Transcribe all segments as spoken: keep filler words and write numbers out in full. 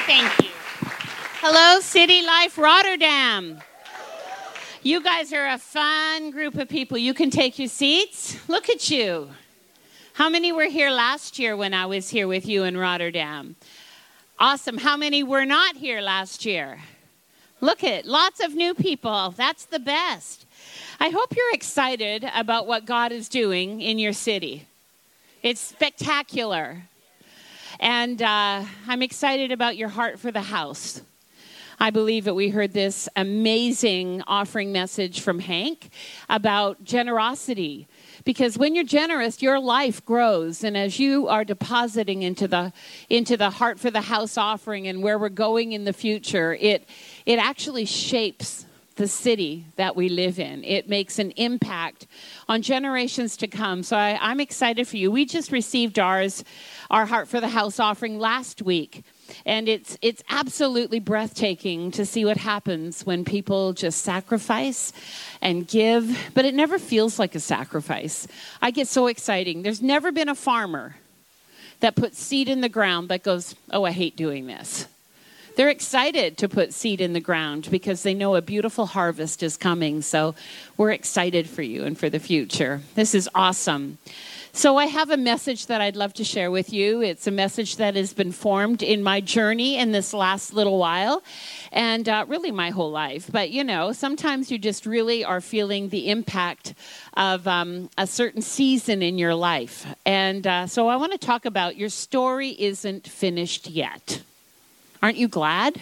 Thank you. Hello, City Life Rotterdam. You guys are a fun group of people. You can take your seats. Look at you. How many were here last year when I was here with you in Rotterdam? Awesome. How many were not here last year? Look at lots of new people. That's the best. I hope you're excited about what God is doing in your city. It's spectacular. And uh, I'm excited about your heart for the house. I believe that we heard this amazing offering message from Hank about generosity. Because when you're generous, your life grows. And as you are depositing into the into the Heart for the House offering and where we're going in the future, it it actually shapes the city that we live in. It makes an impact on generations to come. So I, I'm excited for you. We just received ours, our Heart for the House offering last week. And it's it's absolutely breathtaking to see what happens when people just sacrifice and give. But it never feels like a sacrifice. I get so exciting. There's never been a farmer that puts seed in the ground that goes, oh, I hate doing this. They're excited to put seed in the ground because they know a beautiful harvest is coming. So we're excited for you and for the future. This is awesome. So I have a message that I'd love to share with you. It's a message that has been formed in my journey in this last little while and uh, really my whole life. But, you know, sometimes you just really are feeling the impact of um, a certain season in your life. And uh, so I want to talk about your story isn't finished yet. Aren't you glad?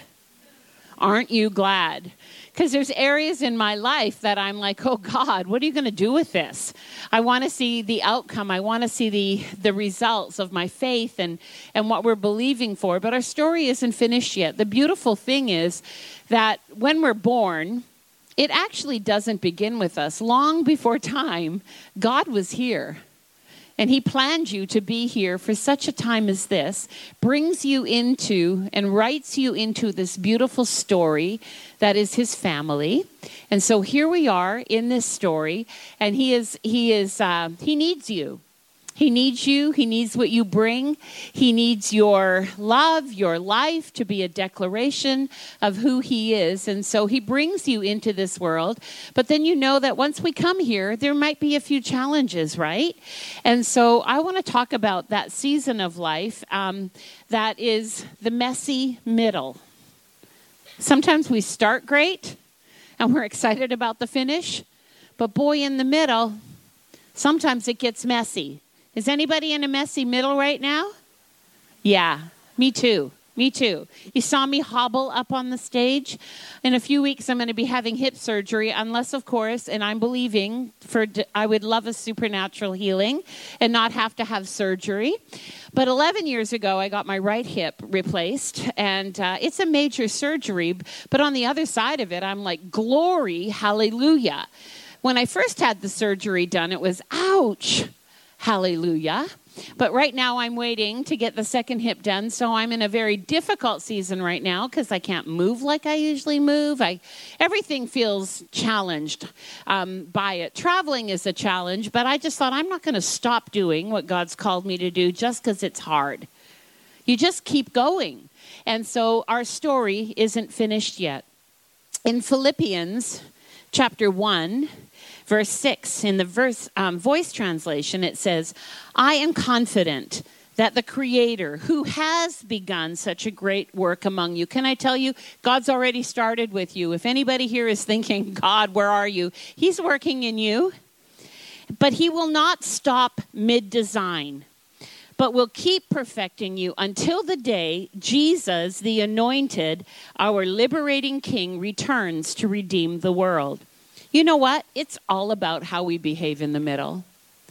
Aren't you glad? Because there's areas in my life that I'm like, oh, God, what are you going to do with this? I want to see the outcome. I want to see the, the results of my faith and, and what we're believing for. But our story isn't finished yet. The beautiful thing is that when we're born, it actually doesn't begin with us. Long before time, God was here. And he planned you to be here for such a time as this, brings you into and writes you into this beautiful story that is his family. And so here we are in this story, and he is he is uh, he needs you. He needs you. He needs what you bring. He needs your love, your life to be a declaration of who he is. And so he brings you into this world. But then you know that once we come here, there might be a few challenges, right? And so I want to talk about that season of life um, that is the messy middle. Sometimes we start great and we're excited about the finish. But boy, in the middle, sometimes it gets messy. Is anybody in a messy middle right now? Yeah, me too. Me too. You saw me hobble up on the stage. In a few weeks, I'm going to be having hip surgery, unless, of course, and I'm believing for, I would love a supernatural healing and not have to have surgery. But eleven years ago, I got my right hip replaced, and uh, it's a major surgery. But on the other side of it, I'm like, glory, hallelujah. When I first had the surgery done, it was, ouch. Hallelujah. But right now I'm waiting to get the second hip done. So I'm in a very difficult season right now because I can't move like I usually move. I everything feels challenged um, by it. Traveling is a challenge, but I just thought I'm not going to stop doing what God's called me to do just because it's hard. You just keep going. And so our story isn't finished yet. In Philippians chapter one, verse six, in the verse um, voice translation, it says, I am confident that the Creator who has begun such a great work among you. Can I tell you, God's already started with you. If anybody here is thinking, God, where are you? He's working in you. But he will not stop mid-design, but will keep perfecting you until the day Jesus, the anointed, our liberating King, returns to redeem the world. You know what? It's all about how we behave in the middle.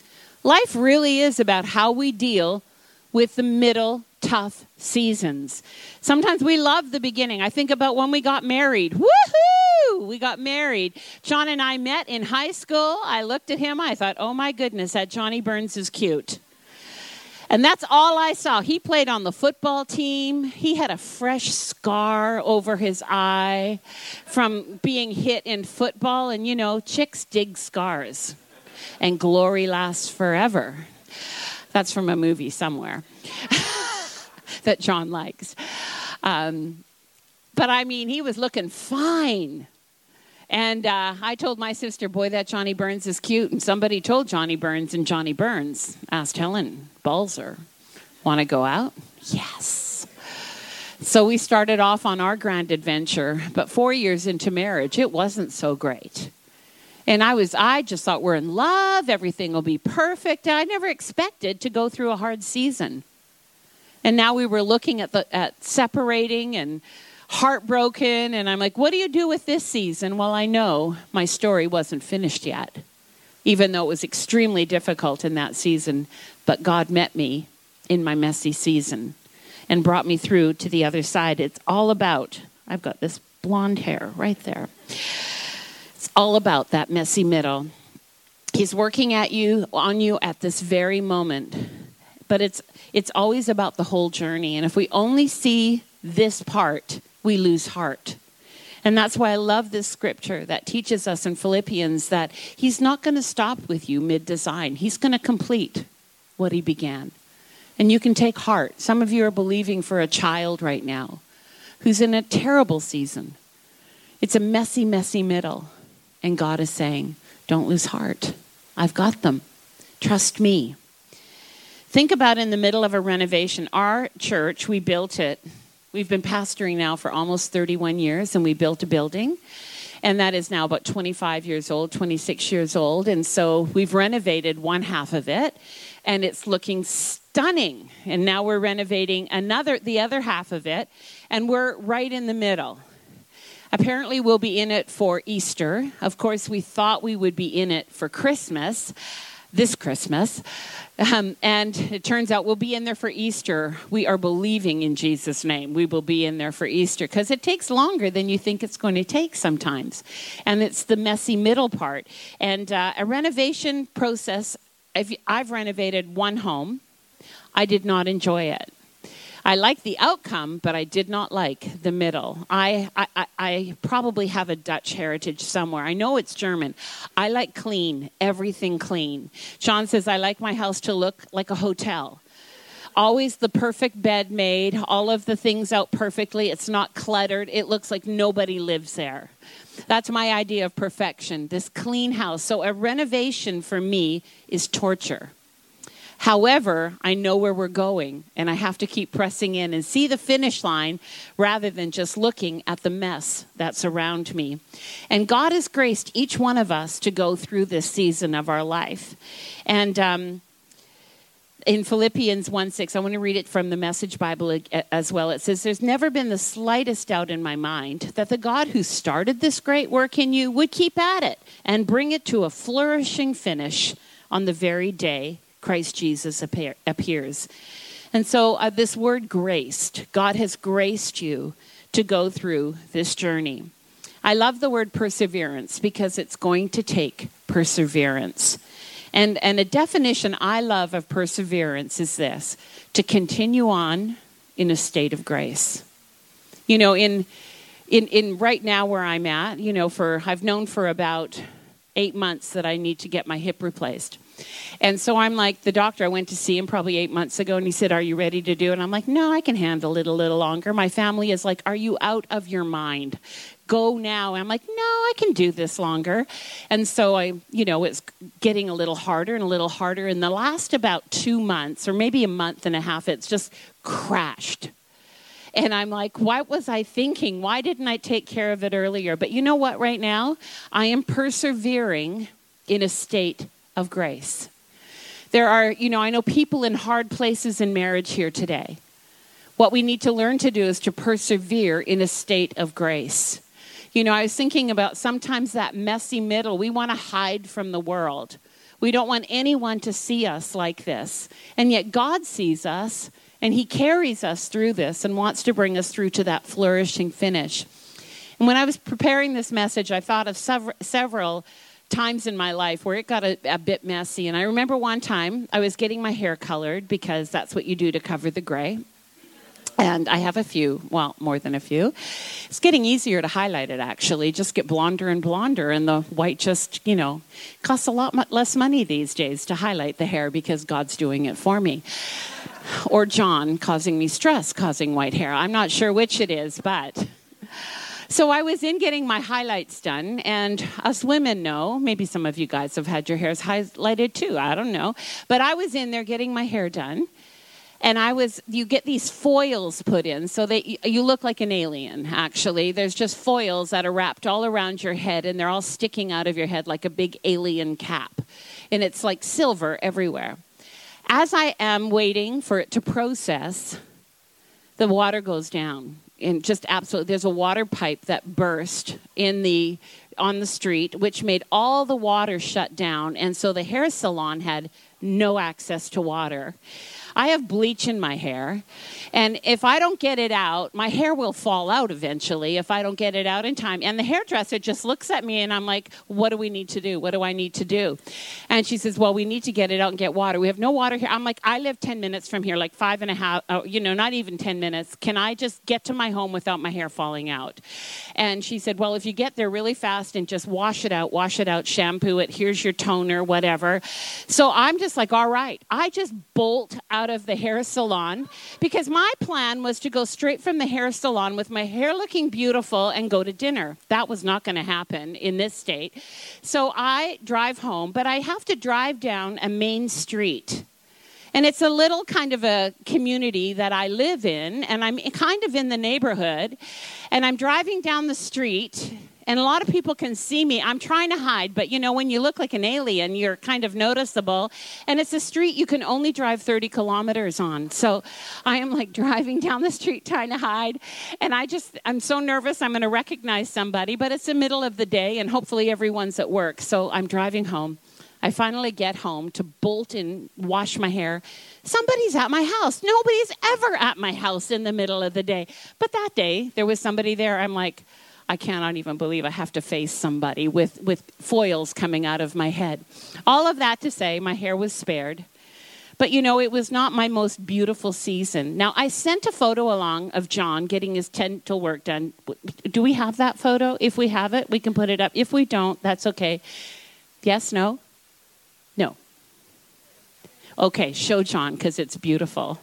Life really is about how we deal with the middle tough seasons. Sometimes we love the beginning. I think about when we got married. Woohoo! We got married. John and I met in high school. I looked at him. I thought, oh my goodness, that Johnny Burns is cute. And that's all I saw. He played on the football team. He had a fresh scar over his eye from being hit in football. And, you know, chicks dig scars. And glory lasts forever. That's from a movie somewhere that John likes. Um, but I mean, he was looking fine. And uh, I told my sister, boy, that Johnny Burns is cute. And somebody told Johnny Burns, and Johnny Burns asked Helen Balzer, want to go out? Yes. So we started off on our grand adventure. But four years into marriage, it wasn't so great. And I was, I just thought we're in love. Everything will be perfect. I never expected to go through a hard season. And now we were looking at the at separating and heartbroken, and I'm like, what do you do with this season? Well, I know my story wasn't finished yet, even though it was extremely difficult in that season. But God met me in my messy season and brought me through to the other side. It's all about, I've got this blonde hair right there. It's all about that messy middle. He's working at you, on you at this very moment. But it's it's always about the whole journey. And if we only see this part, we lose heart. And that's why I love this scripture that teaches us in Philippians that he's not going to stop with you mid-design. He's going to complete what he began. And you can take heart. Some of you are believing for a child right now who's in a terrible season. It's a messy, messy middle. And God is saying, don't lose heart. I've got them. Trust me. Think about in the middle of a renovation. Our church, we built it. We've been pastoring now for almost thirty-one years, and we built a building. And that is now about twenty-five years old, twenty-six years old. And so we've renovated one half of it, and it's looking stunning. And now we're renovating another, the other half of it, and we're right in the middle. Apparently, we'll be in it for Easter. Of course, we thought we would be in it for Christmas, this Christmas. Um, and it turns out we'll be in there for Easter. We are believing in Jesus' name. We will be in there for Easter because it takes longer than you think it's going to take sometimes. And it's the messy middle part. And uh, a renovation process, I've, I've renovated one home. I did not enjoy it. I like the outcome, but I did not like the middle. I, I, I probably have a Dutch heritage somewhere. I know it's German. I like clean, everything clean. Sean says, I like my house to look like a hotel. Always the perfect bed made, all of the things out perfectly. It's not cluttered. It looks like nobody lives there. That's my idea of perfection, this clean house. So a renovation for me is torture. However, I know where we're going, and I have to keep pressing in and see the finish line rather than just looking at the mess that's around me. And God has graced each one of us to go through this season of our life. And um, in Philippians one six, I want to read it from the Message Bible as well. It says, there's never been the slightest doubt in my mind that the God who started this great work in you would keep at it and bring it to a flourishing finish on the very day Christ Jesus appear, appears. And so uh, this word graced, God has graced you to go through this journey. I love the word perseverance because it's going to take perseverance. And, and a definition I love of perseverance is this, to continue on in a state of grace. You know, in in in right now where I'm at, you know, for I've known for about eight months that I need to get my hip replaced. And so I'm like, the doctor, I went to see him probably eight months ago, and he said, are you ready to do it? And I'm like, no, I can handle it a little longer. My family is like, are you out of your mind? Go now. And I'm like, no, I can do this longer. And so I, you know, it's getting a little harder and a little harder. In the last about two months, or maybe a month and a half, it's just crashed. And I'm like, what was I thinking? Why didn't I take care of it earlier? But you know what, right now, I am persevering in a state of grace. There are, you know, I know people in hard places in marriage here today. What we need to learn to do is to persevere in a state of grace. You know, I was thinking about sometimes that messy middle. We want to hide from the world. We don't want anyone to see us like this. And yet God sees us, and he carries us through this and wants to bring us through to that flourishing finish. And when I was preparing this message, I thought of several, several times in my life where it got a, a bit messy. And I remember one time I was getting my hair colored because that's what you do to cover the gray. And I have a few, well, more than a few. It's getting easier to highlight it, actually. Just get blonder and blonder, and the white just, you know, costs a lot less money these days to highlight the hair because God's doing it for me. or John causing me stress, causing white hair. I'm not sure which it is, but... So I was in getting my highlights done, and us women know, maybe some of you guys have had your hairs highlighted too, I don't know. But I was in there getting my hair done, and I was, you get these foils put in so that you look like an alien, actually. There's just foils that are wrapped all around your head, and they're all sticking out of your head like a big alien cap. And it's like silver everywhere. As I am waiting for it to process, the water goes down. And just absolutely, there's a water pipe that burst in the on the street, which made all the water shut down. And so the hair salon had no access to water. I have bleach in my hair, and if I don't get it out, my hair will fall out eventually if I don't get it out in time. And the hairdresser just looks at me, and I'm like, what do we need to do? What do I need to do? And she says, well, we need to get it out and get water. We have no water here. I'm like, I live ten minutes from here, like five and a half, oh, you know, not even ten minutes. Can I just get to my home without my hair falling out? And she said, well, if you get there really fast and just wash it out, wash it out, shampoo it, here's your toner, whatever. So I'm just like, all right. I just bolt out of the hair salon because my plan was to go straight from the hair salon with my hair looking beautiful and go to dinner. That was not going to happen in this state. So I drive home, but I have to drive down a main street. And it's a little kind of a community that I live in, and I'm kind of in the neighborhood. And I'm driving down the street, and a lot of people can see me. I'm trying to hide, but you know, when you look like an alien, you're kind of noticeable. And it's a street you can only drive thirty kilometers on. So I am like driving down the street trying to hide. And I just, I'm so nervous I'm going to recognize somebody, but it's the middle of the day, and hopefully everyone's at work. So I'm driving home. I finally get home to bolt and wash my hair. Somebody's at my house. Nobody's ever at my house in the middle of the day. But that day, there was somebody there. I'm like, I cannot even believe I have to face somebody with, with foils coming out of my head. All of that to say, my hair was spared. But, you know, it was not my most beautiful season. Now, I sent a photo along of John getting his dental work done. Do we have that photo? If we have it, we can put it up. If we don't, that's okay. Yes, no? No. Okay, show John because it's beautiful.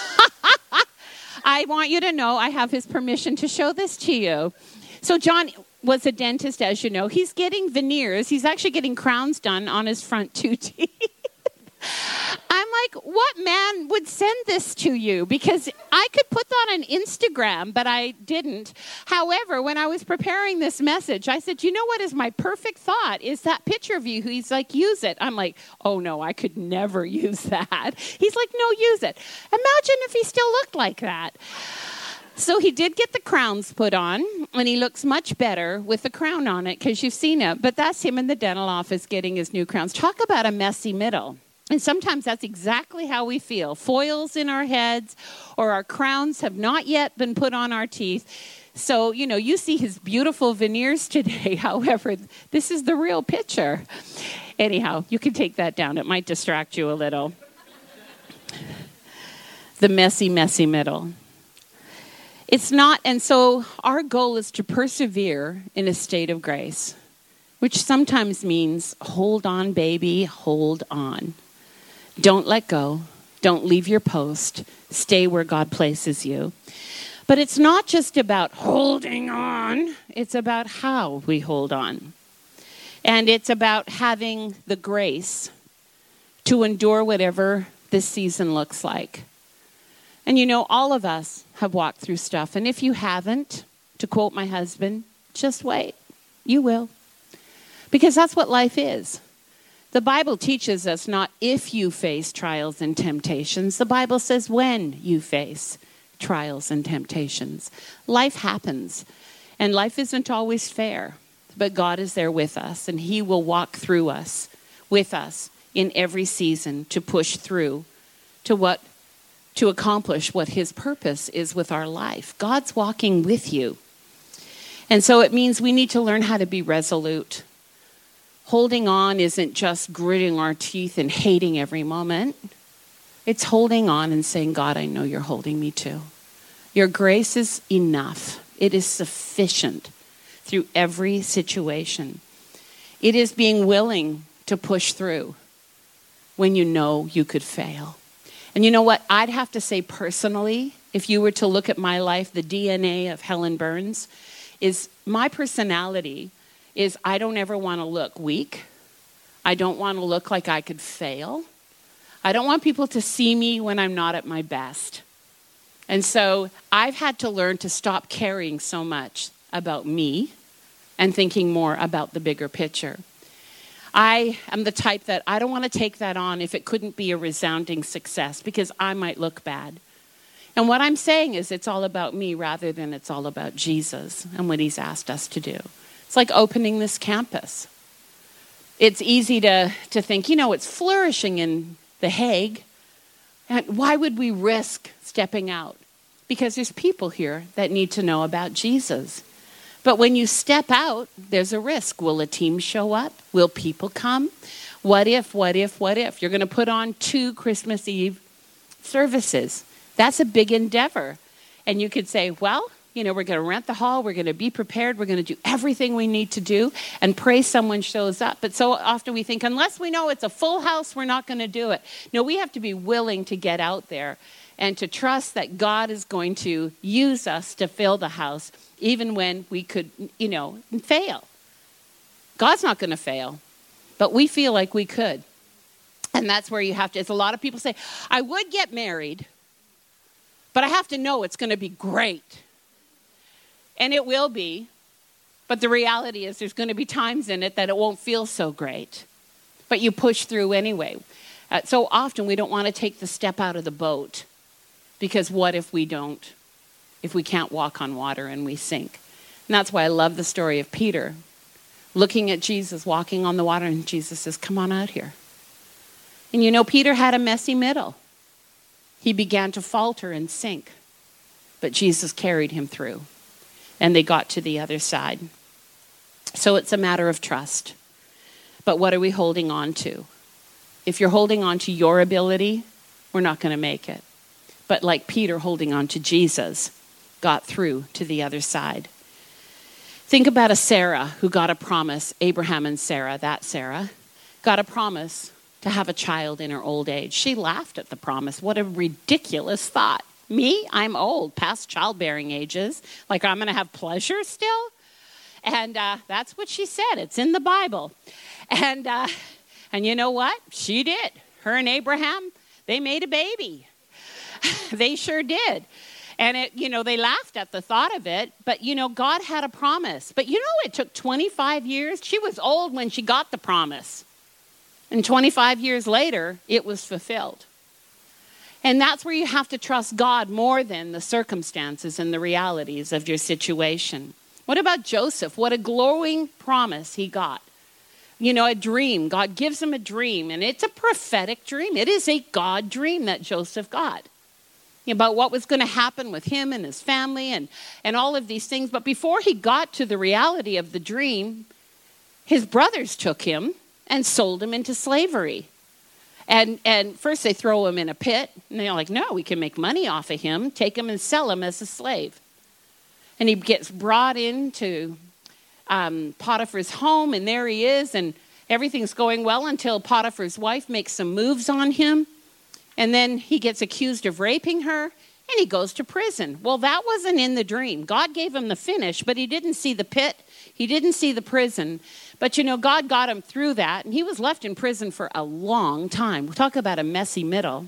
I want you to know I have his permission to show this to you. So John was a dentist, as you know. He's getting veneers. He's actually getting crowns done on his front two teeth. I'm like, what man would send this to you? Because I could put that on Instagram, but I didn't. However, when I was preparing this message, I said, you know what is my perfect thought? Is that picture of you. He's like, use it. I'm like, oh, no, I could never use that. He's like, no, use it. Imagine if he still looked like that. So he did get the crowns put on, and he looks much better with the crown on it because you've seen it. But that's him in the dental office getting his new crowns. Talk about a messy middle. And sometimes that's exactly how we feel. Foils in our heads, or our crowns have not yet been put on our teeth. So, you know, you see his beautiful veneers today. However, this is the real picture. Anyhow, you can take that down. It might distract you a little. The messy, messy middle. It's not, and so our goal is to persevere in a state of grace, which sometimes means hold on, baby, hold on. Don't let go. Don't leave your post. Stay where God places you. But it's not just about holding on. It's about how we hold on. And it's about having the grace to endure whatever this season looks like. And you know, all of us have walked through stuff. And if you haven't, to quote my husband, just wait. You will. Because that's what life is. The Bible teaches us not if you face trials and temptations. The Bible says when you face trials and temptations. Life happens. And life isn't always fair. But God is there with us. And He will walk through us, with us, in every season to push through to what, to accomplish what His purpose is with our life. God's walking with you. And so it means we need to learn how to be resolute. Holding on isn't just gritting our teeth and hating every moment. It's holding on and saying, God, I know you're holding me too. Your grace is enough. It is sufficient through every situation. It is being willing to push through when you know you could fail. And you know what? I'd have to say personally, if you were to look at my life, the D N A of Helen Burns is my personality is I don't ever want to look weak. I don't want to look like I could fail. I don't want people to see me when I'm not at my best. And so I've had to learn to stop caring so much about me and thinking more about the bigger picture. I am the type that I don't want to take that on if it couldn't be a resounding success because I might look bad. And what I'm saying is it's all about me rather than it's all about Jesus and what he's asked us to do. It's like opening this campus. It's easy to, to think, you know, it's flourishing in The Hague. And why would we risk stepping out? Because there's people here that need to know about Jesus. But when you step out, there's a risk. Will a team show up? Will people come? What if, what if, what if? You're going to put on two Christmas Eve services. That's a big endeavor. And you could say, well, you know, we're going to rent the hall. We're going to be prepared. We're going to do everything we need to do and pray someone shows up. But so often we think, unless we know it's a full house, we're not going to do it. No, we have to be willing to get out there and to trust that God is going to use us to fill the house, even when we could, you know, fail. God's not going to fail, but we feel like we could. And that's where you have to, it's a lot of people say, I would get married, but I have to know it's going to be great. And it will be, but the reality is there's going to be times in it that it won't feel so great. But you push through anyway. Uh, so often we don't want to take the step out of the boat because what if we don't? If we can't walk on water and we sink. And that's why I love the story of Peter looking at Jesus walking on the water, and Jesus says, come on out here. And you know, Peter had a messy middle. He began to falter and sink, but Jesus carried him through, and they got to the other side. So it's a matter of trust. But what are we holding on to? If you're holding on to your ability, we're not going to make it. But like Peter holding on to Jesus, got through to the other side. Think about a Sarah who got a promise, Abraham and Sarah, that Sarah, got a promise to have a child in her old age. She laughed at the promise. What a ridiculous thought. Me, I'm old, past childbearing ages. Like I'm going to have pleasure still? And uh, that's what she said. It's in the Bible. And, uh, and you know what? She did. Her and Abraham, they made a baby. They sure did. And, it, you know, they laughed at the thought of it. But, you know, God had a promise. But, you know, it took twenty-five years. She was old when she got the promise. And twenty-five years later, it was fulfilled. And that's where you have to trust God more than the circumstances and the realities of your situation. What about Joseph? What a glowing promise he got. You know, a dream. God gives him a dream. And it's a prophetic dream. It is a God dream that Joseph got about what was going to happen with him and his family and, and all of these things. But before he got to the reality of the dream, his brothers took him and sold him into slavery. And and first they throw him in a pit. And they're like, no, we can make money off of him. Take him and sell him as a slave. And he gets brought into um, Potiphar's home. And there he is. And everything's going well until Potiphar's wife makes some moves on him. And then he gets accused of raping her, and he goes to prison. Well, that wasn't in the dream. God gave him the finish, but he didn't see the pit. He didn't see the prison. But, you know, God got him through that, and he was left in prison for a long time. We'll talk about a messy middle.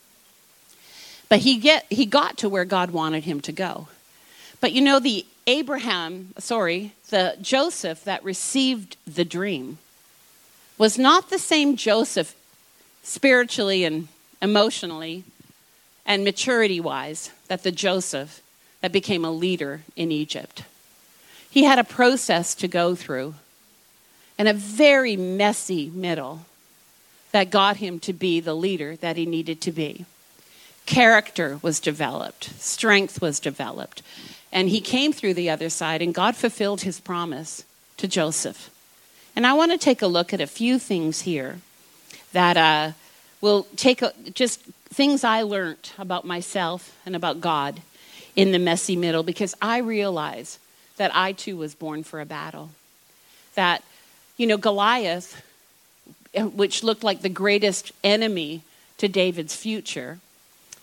But he get he got to where God wanted him to go. But, you know, the Abraham, sorry, the Joseph that received the dream was not the same Joseph spiritually and emotionally and maturity-wise that the Joseph that became a leader in Egypt. He had a process to go through and a very messy middle that got him to be the leader that he needed to be. Character was developed. Strength was developed. And he came through the other side, and God fulfilled his promise to Joseph. And I want to take a look at a few things here that uh, will take a, just things I learned about myself and about God in the messy middle, because I realize that I too was born for a battle. That, you know, Goliath, which looked like the greatest enemy to David's future,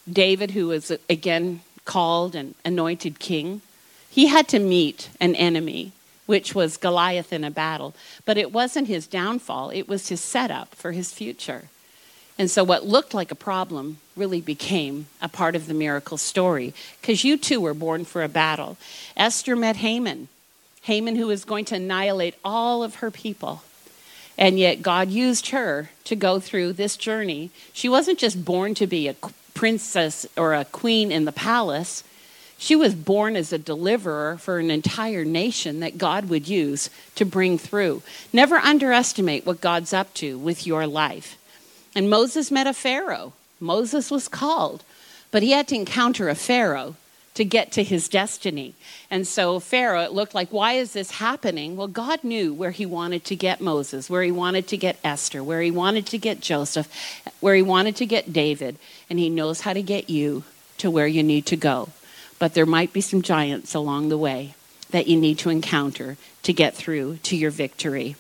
David, who was again called and anointed king, he had to meet an enemy, which was Goliath in a battle. But it wasn't his downfall. It was his setup for his future. And so what looked like a problem really became a part of the miracle story, because you too were born for a battle. Esther met Haman, Haman who was going to annihilate all of her people. And yet God used her to go through this journey. She wasn't just born to be a princess or a queen in the palace. She was born as a deliverer for an entire nation that God would use to bring through. Never underestimate what God's up to with your life. And Moses met a Pharaoh. Moses was called, but he had to encounter a Pharaoh to get to his destiny. And so Pharaoh, it looked like, why is this happening? Well, God knew where he wanted to get Moses, where he wanted to get Esther, where he wanted to get Joseph, where he wanted to get David, and he knows how to get you to where you need to go. But there might be some giants along the way that you need to encounter to get through to your victory.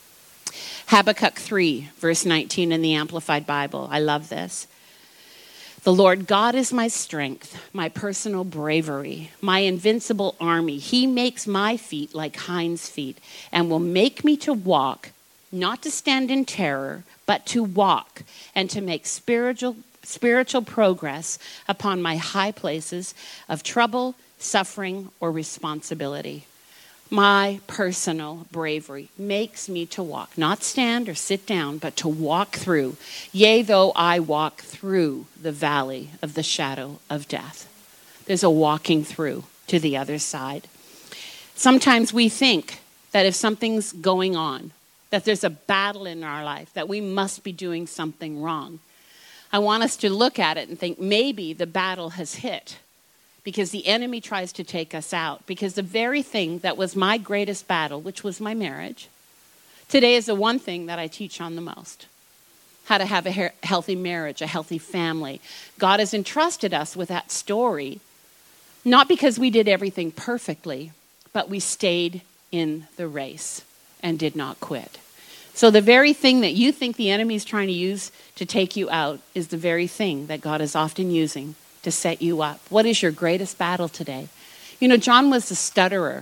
Habakkuk three, verse nineteen in the Amplified Bible. I love this. The Lord God is my strength, my personal bravery, my invincible army. He makes my feet like hinds' feet and will make me to walk, not to stand in terror, but to walk and to make spiritual spiritual progress upon my high places of trouble, suffering, or responsibility. My personal bravery makes me to walk, not stand or sit down, but to walk through. Yea, though I walk through the valley of the shadow of death. There's a walking through to the other side. Sometimes we think that if something's going on, that there's a battle in our life, that we must be doing something wrong. I want us to look at it and think maybe the battle has hit, because the enemy tries to take us out. Because the very thing that was my greatest battle, which was my marriage, today is the one thing that I teach on the most. How to have a he- healthy marriage, a healthy family. God has entrusted us with that story, not because we did everything perfectly, but we stayed in the race and did not quit. So the very thing that you think the enemy is trying to use to take you out is the very thing that God is often using to set you up. What is your greatest battle today? You know, John was a stutterer.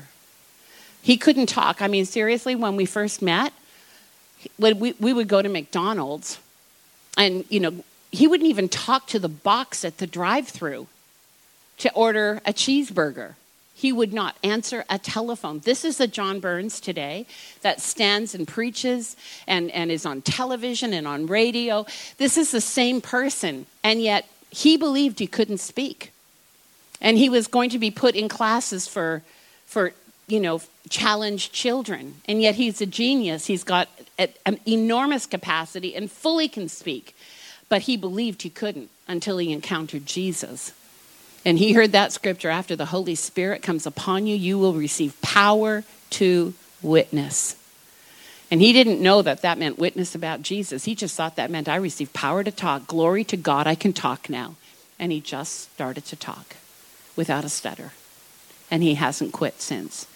He couldn't talk. I mean, seriously, when we first met, when we, we would go to McDonald's, and, you know, he wouldn't even talk to the box at the drive-thru to order a cheeseburger. He would not answer a telephone. This is the John Burns today that stands and preaches and, and is on television and on radio. This is the same person, and yet he believed he couldn't speak. And he was going to be put in classes for, for you know, challenged children. And yet he's a genius. He's got a, an enormous capacity and fully can speak. But he believed he couldn't until he encountered Jesus. And he heard that scripture, after the Holy Spirit comes upon you, you will receive power to witness. And he didn't know that that meant witness about Jesus. He just thought that meant I received power to talk. Glory to God, I can talk now. And he just started to talk without a stutter. And he hasn't quit since.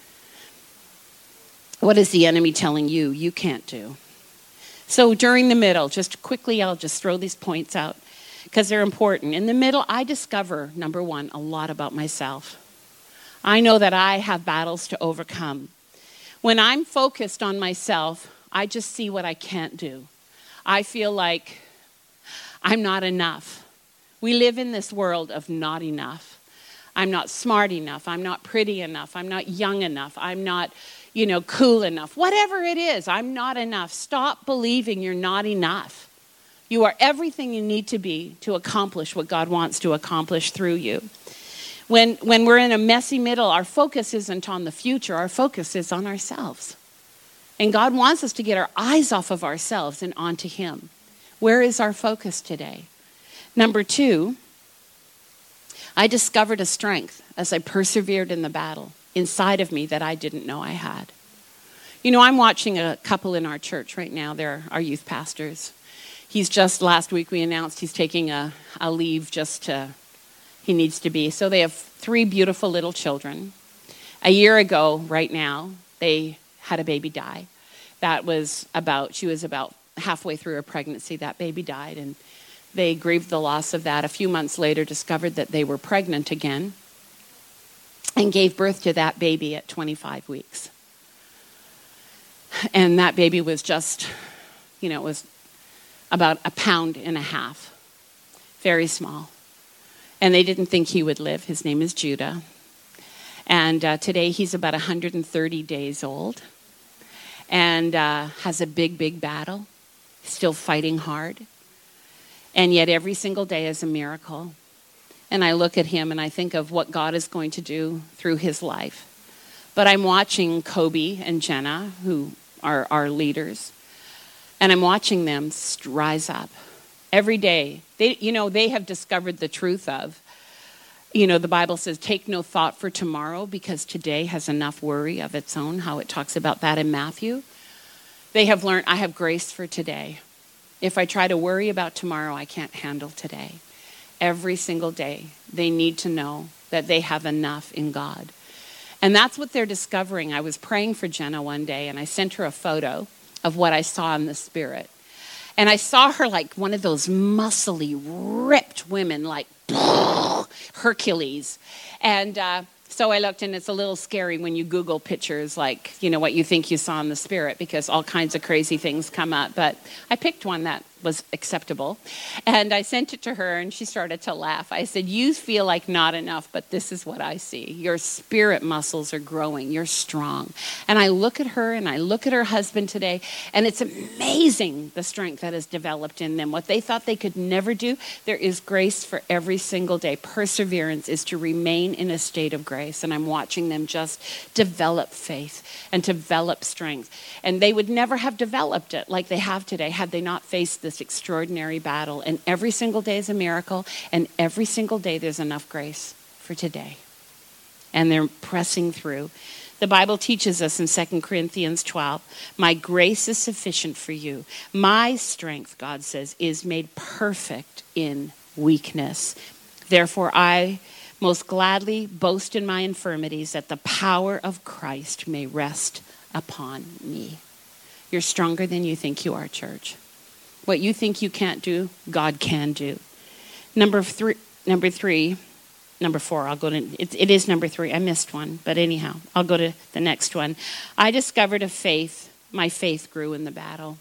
What is the enemy telling you you can't do? So during the middle, just quickly, I'll just throw these points out because they're important. In the middle, I discover, number one, a lot about myself. I know that I have battles to overcome. When I'm focused on myself, I just see what I can't do. I feel like I'm not enough. We live in this world of not enough. I'm not smart enough. I'm not pretty enough. I'm not young enough. I'm not, you know, cool enough. Whatever it is, I'm not enough. Stop believing you're not enough. You are everything you need to be to accomplish what God wants to accomplish through you. When, when we're in a messy middle, our focus isn't on the future. Our focus is on ourselves. And God wants us to get our eyes off of ourselves and onto him. Where is our focus today? Number two, I discovered a strength as I persevered in the battle inside of me that I didn't know I had. You know, I'm watching a couple in our church right now. They're our youth pastors. He's just, last week we announced he's taking a, a leave just to, he needs to be. So they have three beautiful little children. A year ago, right now, they had a baby die. That was about, she was about halfway through her pregnancy. That baby died, and They grieved the loss of that. A few months later, discovered that they were pregnant again and gave birth to that baby at twenty-five weeks. And that baby was just, you know, it was about a pound and a half. Very small. And they didn't think he would live. His name is Judah. And uh, today he's about one hundred thirty days old and uh, has a big, big battle, still fighting hard. And yet every single day is a miracle. And I look at him and I think of what God is going to do through his life. But I'm watching Kobe and Jenna, who are our leaders, and I'm watching them rise up every day. They, you know, they have discovered the truth of, you know, the Bible says, take no thought for tomorrow because today has enough worry of its own, how it talks about that in Matthew. They have learned, I have grace for today. If I try to worry about tomorrow, I can't handle today. Every single day, they need to know that they have enough in God. And that's what they're discovering. I was praying for Jenna one day, and I sent her a photo of what I saw in the spirit. And I saw her like one of those muscly, ripped women, like Hercules. And uh, so I looked, and it's a little scary when you Google pictures like, you know, what you think you saw in the spirit, because all kinds of crazy things come up. But I picked one that was acceptable. And I sent it to her, and she started to laugh. I said, you feel like not enough, but this is what I see. Your spirit muscles are growing. You're strong. And I look at her, and I look at her husband today, and it's amazing the strength that has developed in them. What they thought they could never do, there is grace for every single day. Perseverance is to remain in a state of grace. And I'm watching them just develop faith and develop strength. And they would never have developed it like they have today had they not faced this extraordinary battle. And every single day is a miracle, and every single day there's enough grace for today. And they're pressing through. The Bible teaches us in Second Corinthians twelve, my grace is sufficient for you. My strength, God says, is made perfect in weakness. Therefore, I most gladly boast in my infirmities, that the power of Christ may rest upon me. You're stronger than you think you are, church. What you think you can't do, God can do. Number three, number three, number four, I'll go to, it, it is number three. I missed one, but anyhow, I'll go to the next one. I discovered a faith, my faith grew in the battle.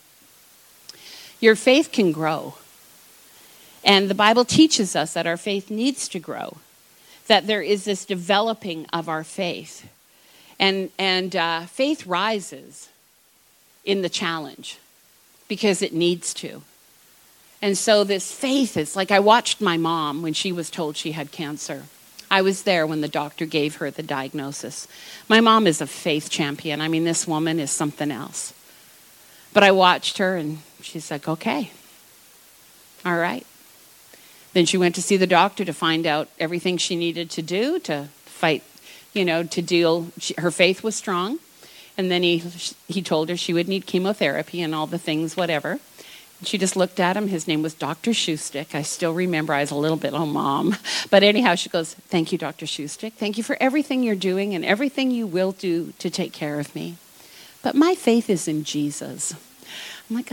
Your faith can grow. And the Bible teaches us that our faith needs to grow, that there is this developing of our faith. And, and uh, faith rises in the challenge, because it needs to. And so this faith is like, I watched my mom when she was told she had cancer. I was there when the doctor gave her the diagnosis. My mom is a faith champion. I mean, this woman is something else. But I watched her, and she's like, okay, all right. Then she went to see the doctor to find out everything she needed to do to fight, you know, to deal. She, her faith was strong. And then he he told her she would need chemotherapy and all the things, whatever. She just looked at him. His name was Doctor Shoestick. I still remember. I was a little bit, oh, Mom. But anyhow, she goes, thank you, Doctor Shoestick. Thank you for everything you're doing and everything you will do to take care of me. But my faith is in Jesus. I'm like,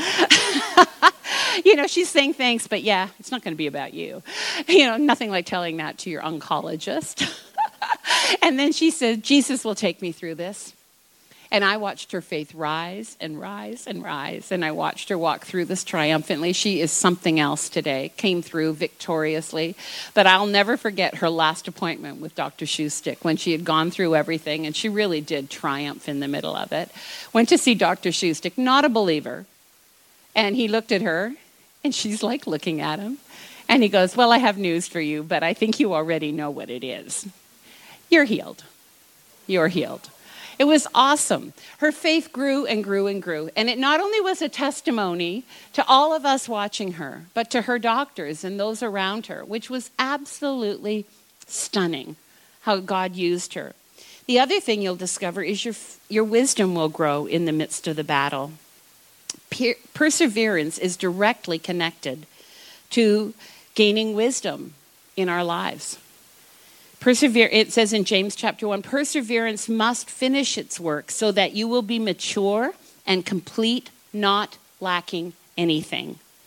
ah. You know, she's saying thanks, but yeah, it's not going to be about you. You know, nothing like telling that to your oncologist. And then she said, Jesus will take me through this. And I watched her faith rise and rise and rise. And I watched her walk through this triumphantly. She is something else today. Came through victoriously. But I'll never forget her last appointment with Doctor Shoestick when she had gone through everything. And she really did triumph in the middle of it. Went to see Doctor Shoestick, not a believer. And he looked at her. And she's like looking at him. And he goes, well, I have news for you. But I think you already know what it is. You're healed. You're healed. It was awesome. Her faith grew and grew and grew. And it not only was a testimony to all of us watching her, but to her doctors and those around her, which was absolutely stunning how God used her. The other thing you'll discover is your, your wisdom will grow in the midst of the battle. Per- perseverance is directly connected to gaining wisdom in our lives. Persevere, it says in James chapter one, perseverance must finish its work so that you will be mature and complete, not lacking anything.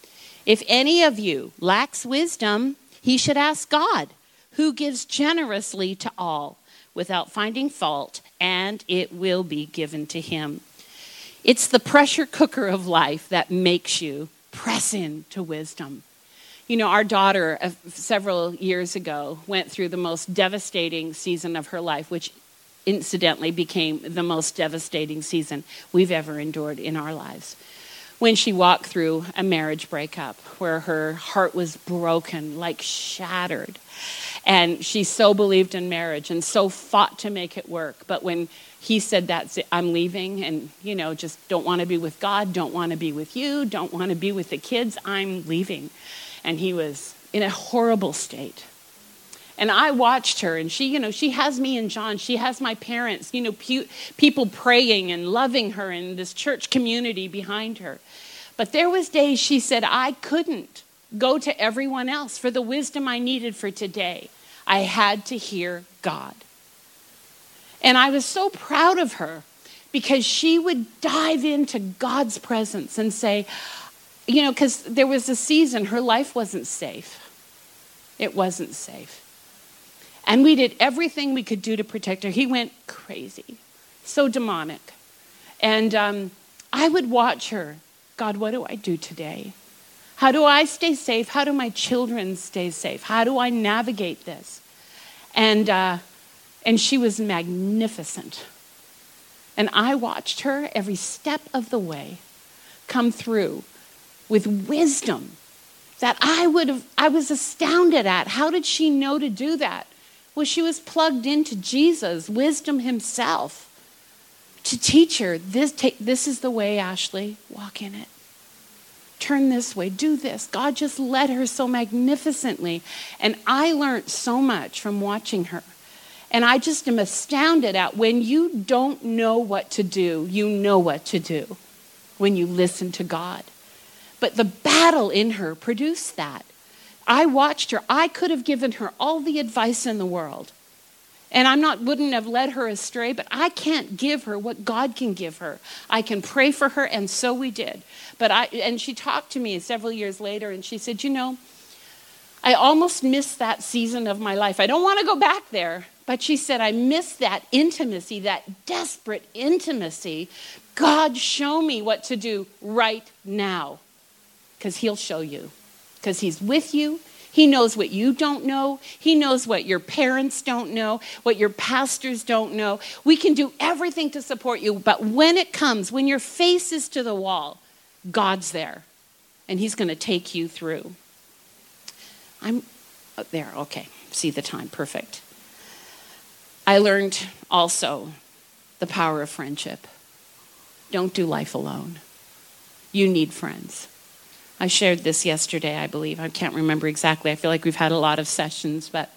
If any of you lacks wisdom, he should ask God, who gives generously to all without finding fault, and it will be given to him. It's the pressure cooker of life that makes you press into wisdom. You know, our daughter uh, several years ago went through the most devastating season of her life, which incidentally became the most devastating season we've ever endured in our lives. When she walked through a marriage breakup where her heart was broken, like shattered. And she so believed in marriage and so fought to make it work. But when he said, that's it, I'm leaving, and, you know, just don't want to be with God, don't want to be with you, don't want to be with the kids, I'm leaving. And he was in a horrible state. And I watched her, and she, you know, she has me and John. She has my parents, you know, pe- people praying and loving her and this church community behind her. But there was days she said, I couldn't go to everyone else for the wisdom I needed for today. I had to hear God. And I was so proud of her because she would dive into God's presence and say, you know, because there was a season her life wasn't safe. It wasn't safe. And we did everything we could do to protect her. He went crazy, so demonic. And um, I would watch her. God, what do I do today? How do I stay safe? How do my children stay safe? How do I navigate this? And uh, and she was magnificent. And I watched her every step of the way come through with wisdom that I would have, I was astounded at. How did she know to do that? Well, she was plugged into Jesus, wisdom himself, to teach her, this, take, this is the way, Ashley, walk in it. Turn this way, do this. God just led her so magnificently. And I learned so much from watching her. And I just am astounded at when you don't know what to do, you know what to do when you listen to God. But the battle in her produced that. I watched her. I could have given her all the advice in the world. And I'm not, wouldn't have led her astray, but I can't give her what God can give her. I can pray for her, and so we did. But I, and she talked to me several years later, and she said, you know, I almost missed that season of my life. I don't want to go back there. But she said, I missed that intimacy, that desperate intimacy. God, show me what to do right now. Because he'll show you. Because he's with you. He knows what you don't know. He knows what your parents don't know, what your pastors don't know. We can do everything to support you. But when it comes, when your face is to the wall, God's there. And he's going to take you through. I'm oh, there. Okay. See the time. Perfect. I learned also the power of friendship. Don't do life alone. You need friends. I shared this yesterday, I believe. I can't remember exactly. I feel like we've had a lot of sessions, but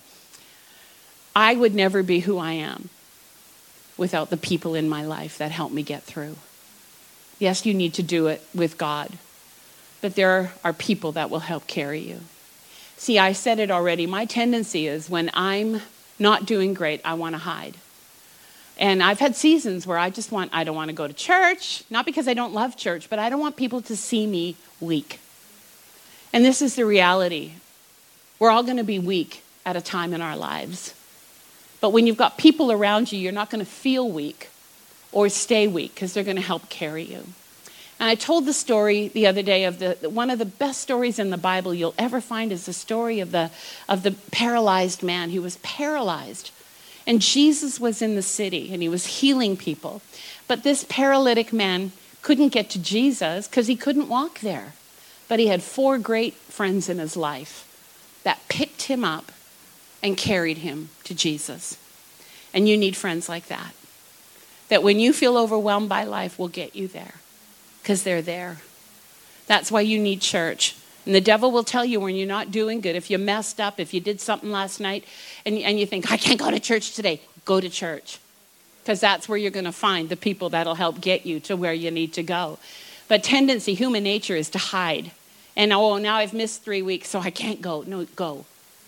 I would never be who I am without the people in my life that help me get through. Yes, you need to do it with God, but there are people that will help carry you. See, I said it already. My tendency is when I'm not doing great, I want to hide. And I've had seasons where I just want, I don't want to go to church, not because I don't love church, but I don't want people to see me weak. And this is the reality. We're all going to be weak at a time in our lives. But when you've got people around you, you're not going to feel weak or stay weak because they're going to help carry you. And I told the story the other day of the one of the best stories in the Bible you'll ever find is the story of the of the paralyzed man. He was paralyzed. And Jesus was in the city and he was healing people. But this paralytic man couldn't get to Jesus because he couldn't walk there. But he had four great friends in his life that picked him up and carried him to Jesus. And you need friends like that. That when you feel overwhelmed by life, will get you there. Because they're there. That's why you need church. And the devil will tell you when you're not doing good, if you messed up, if you did something last night, and, and you think, I can't go to church today, go to church. Because that's where you're going to find the people that'll help get you to where you need to go. But tendency, human nature is to hide. And, oh, now I've missed three weeks, so I can't go. No, go.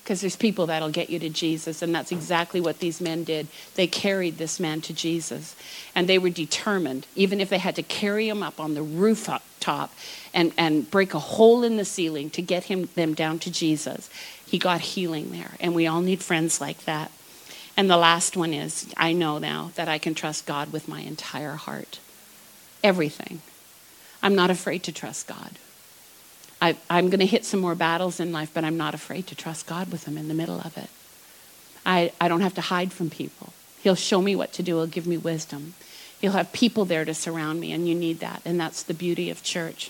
Because there's people that'll get you to Jesus, and that's exactly what these men did. They carried this man to Jesus, and they were determined, even if they had to carry him up on the rooftop and, and break a hole in the ceiling to get him them down to Jesus. He got healing there, and we all need friends like that. And the last one is, I know now that I can trust God with my entire heart. Everything. I'm not afraid to trust God. I, I'm going to hit some more battles in life, but I'm not afraid to trust God with them in the middle of it. I, I don't have to hide from people. He'll show me what to do. He'll give me wisdom. He'll have people there to surround me, and you need that. And that's the beauty of church.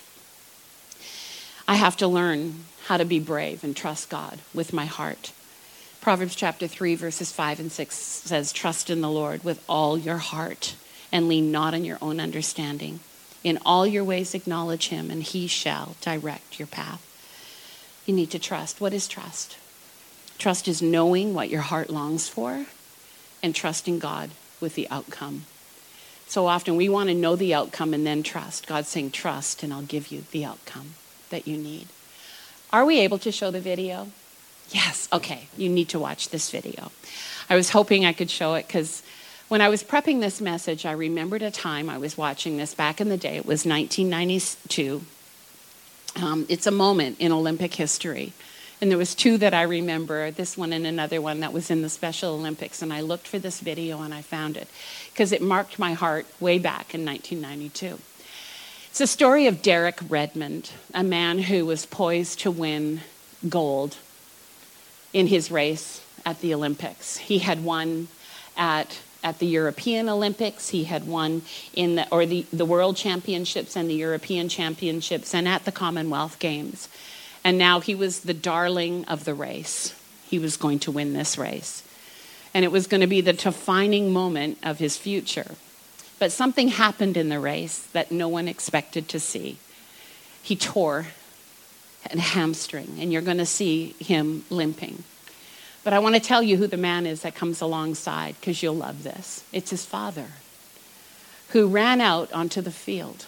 I have to learn how to be brave and trust God with my heart. Proverbs chapter three, verses five and six says, trust in the Lord with all your heart and lean not on your own understanding. In all your ways acknowledge him, and he shall direct your path. You need to trust. What is trust? Trust is knowing what your heart longs for and trusting God with the outcome. So often we want to know the outcome and then trust. God's saying, trust, and I'll give you the outcome that you need. Are we able to show the video? Yes. Okay. You need to watch this video. I was hoping I could show it because when I was prepping this message, I remembered a time I was watching this back in the day. It was nineteen ninety-two. Um, it's a moment in Olympic history. And there was two that I remember, this one and another one that was in the Special Olympics. And I looked for this video and I found it because it marked my heart way back in nineteen ninety-two. It's a story of Derek Redmond, a man who was poised to win gold in his race at the Olympics. He had won at At the European Olympics, he had won in the, or the, the World Championships and the European Championships and at the Commonwealth Games. And now he was the darling of the race. He was going to win this race. And it was going to be the defining moment of his future. But something happened in the race that no one expected to see. He tore a hamstring, and you're going to see him limping. But I want to tell you who the man is that comes alongside, because you'll love this. It's his father, who ran out onto the field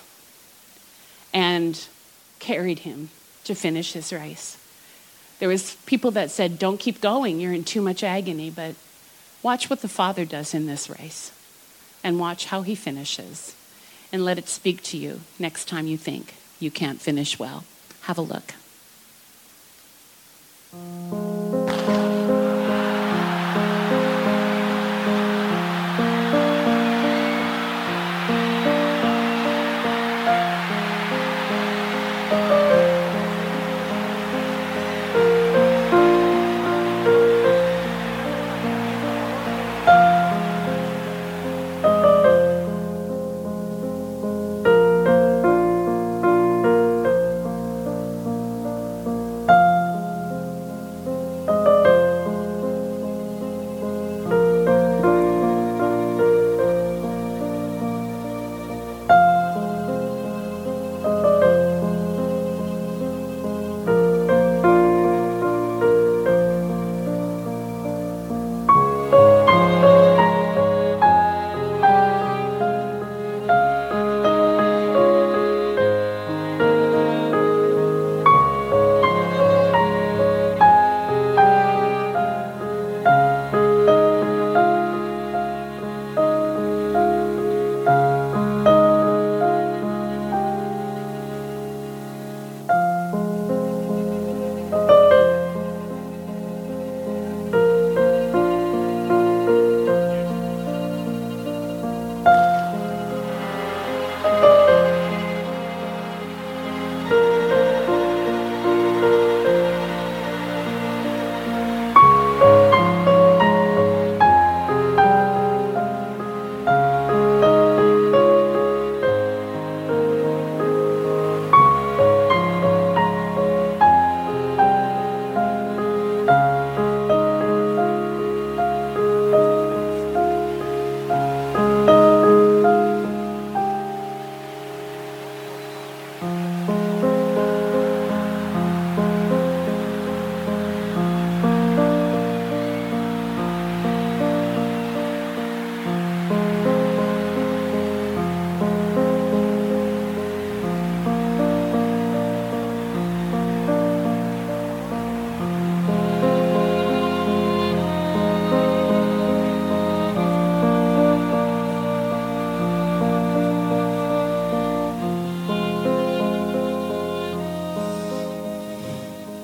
and carried him to finish his race. There was people that said, don't keep going, you're in too much agony. But watch what the father does in this race, and watch how he finishes. And let it speak to you next time you think you can't finish well. Have a look.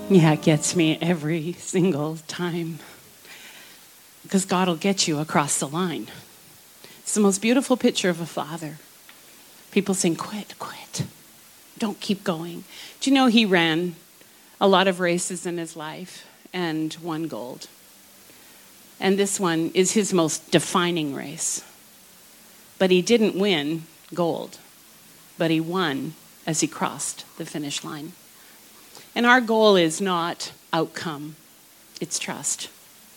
Yeah, it gets me every single time. Because God will get you across the line. It's the most beautiful picture of a father. People saying, quit, quit. Don't keep going. Do you know he ran a lot of races in his life and won gold? And this one is his most defining race. But he didn't win gold, but he won as he crossed the finish line. And our goal is not outcome, it's trust.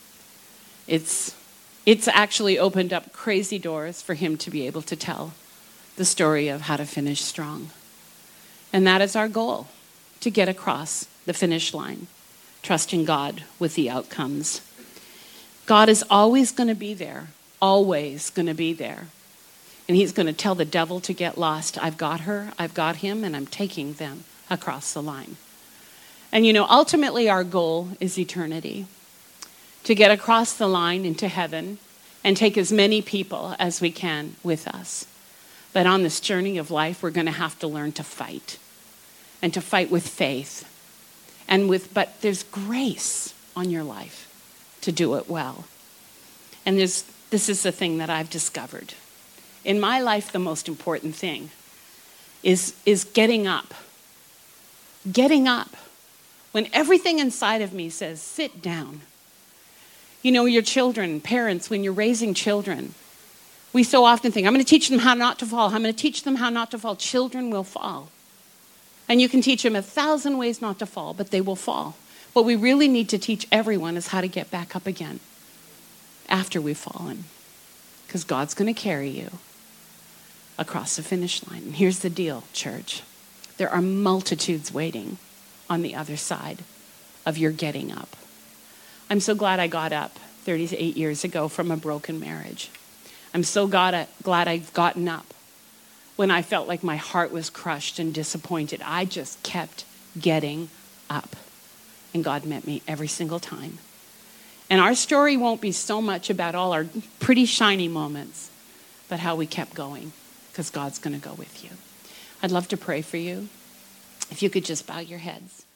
It's, it's actually opened up crazy doors for him to be able to tell the story of how to finish strong. And that is our goal, to get across the finish line, trusting God with the outcomes. God is always going to be there, always going to be there. And he's going to tell the devil to get lost. I've got her, I've got him, and I'm taking them across the line. And you know, ultimately our goal is eternity. To get across the line into heaven and take as many people as we can with us. But on this journey of life, we're going to have to learn to fight. And to fight with faith. And with, but there's grace on your life to do it well. And there's, this is the thing that I've discovered. In my life, the most important thing is, is getting up. Getting up. When everything inside of me says, sit down. You know, your children, parents, when you're raising children, we so often think, I'm going to teach them how not to fall. I'm going to teach them how not to fall. Children will fall. And you can teach them a thousand ways not to fall, but they will fall. What we really need to teach everyone is how to get back up again after we've fallen. Because God's going to carry you across the finish line. And here's the deal, church. There are multitudes waiting on the other side of your getting up. I'm so glad I got up thirty-eight years ago from a broken marriage. I'm so glad, glad I've gotten up when I felt like my heart was crushed and disappointed. I just kept getting up. And God met me every single time. And our story won't be so much about all our pretty shiny moments, but how we kept going, because God's going to go with you. I'd love to pray for you. If you could just bow your heads.